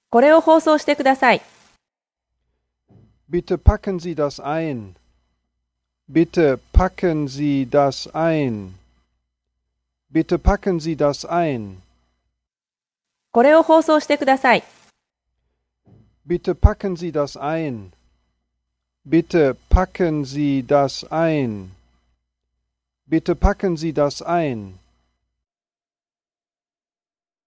これを放送してください。 Bitte packen Sie das ein. Bitte packen Sie das ein. Bitte packen Sie das ein. これを放送してください。 Bitte packen Sie das ein. Bitte packen Sie das ein. Bitte packen Sie das ein.